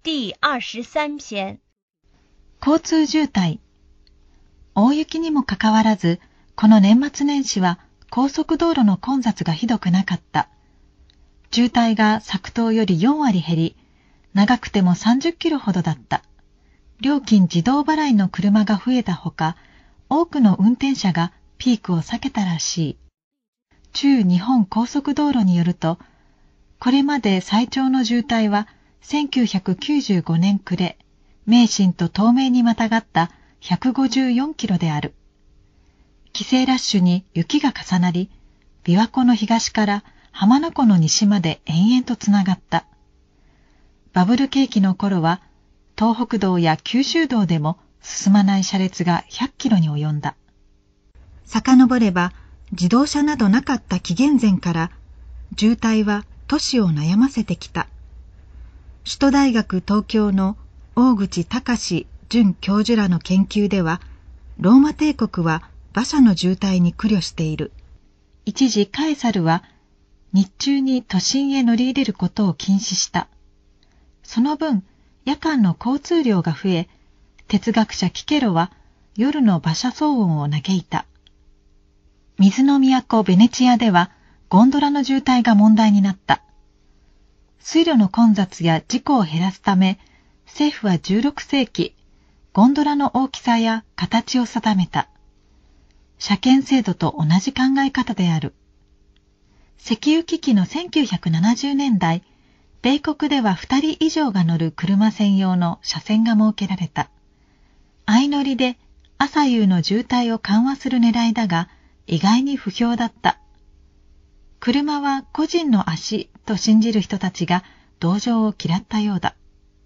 第23篇。 交通渋滞。大雪にもかかわらず、この年末年始は高速道路の混雑がひどくなかった。渋滞が昨冬より4割減り、長くても30キロほどだった。料金自動払いの車が増えたほか、多くの運転者がピークを避けたらしい。中日本高速道路によると、これまで最長の渋滞は1995年暮れ、名神と東名にまたがった154キロである。帰省ラッシュに雪が重なり、琵琶湖の東から浜名湖の西まで延々とつながった。バブル景気の頃は、東北道や九州道でも進まない車列が100キロに及んだ。遡れば、自動車などなかった紀元前から、渋滞は都市を悩ませてきた。首都大学東京の大口隆准教授らの研究では、ローマ帝国は馬車の渋滞に苦慮している。一時カエサルは日中に都心へ乗り入れることを禁止した。その分、夜間の交通量が増え、哲学者キケロは夜の馬車騒音を嘆いた。水の都ベネチアではゴンドラの渋滞が問題になった。水路の混雑や事故を減らすため、政府は16世紀、ゴンドラの大きさや形を定めた。車検制度と同じ考え方である。石油危機の1970年代、米国では2人以上が乗る車専用の車線が設けられた。相乗りで朝夕の渋滞を緩和する狙いだが、意外に不評だった。車は個人の足と信じる人たちが同情を嫌ったようだ。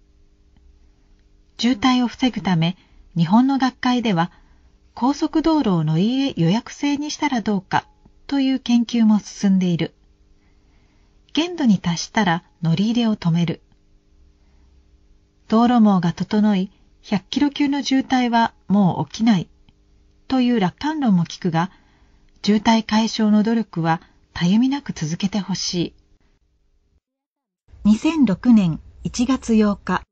渋滞を防ぐため、日本の学会では、高速道路を乗り入れ予約制にしたらどうかという研究も進んでいる。限度に達したら乗り入れを止める。道路網が整い、100キロ級の渋滞はもう起きないという楽観論も聞くが、渋滞解消の努力はたゆみなく続けてほしい。2006年1月8日。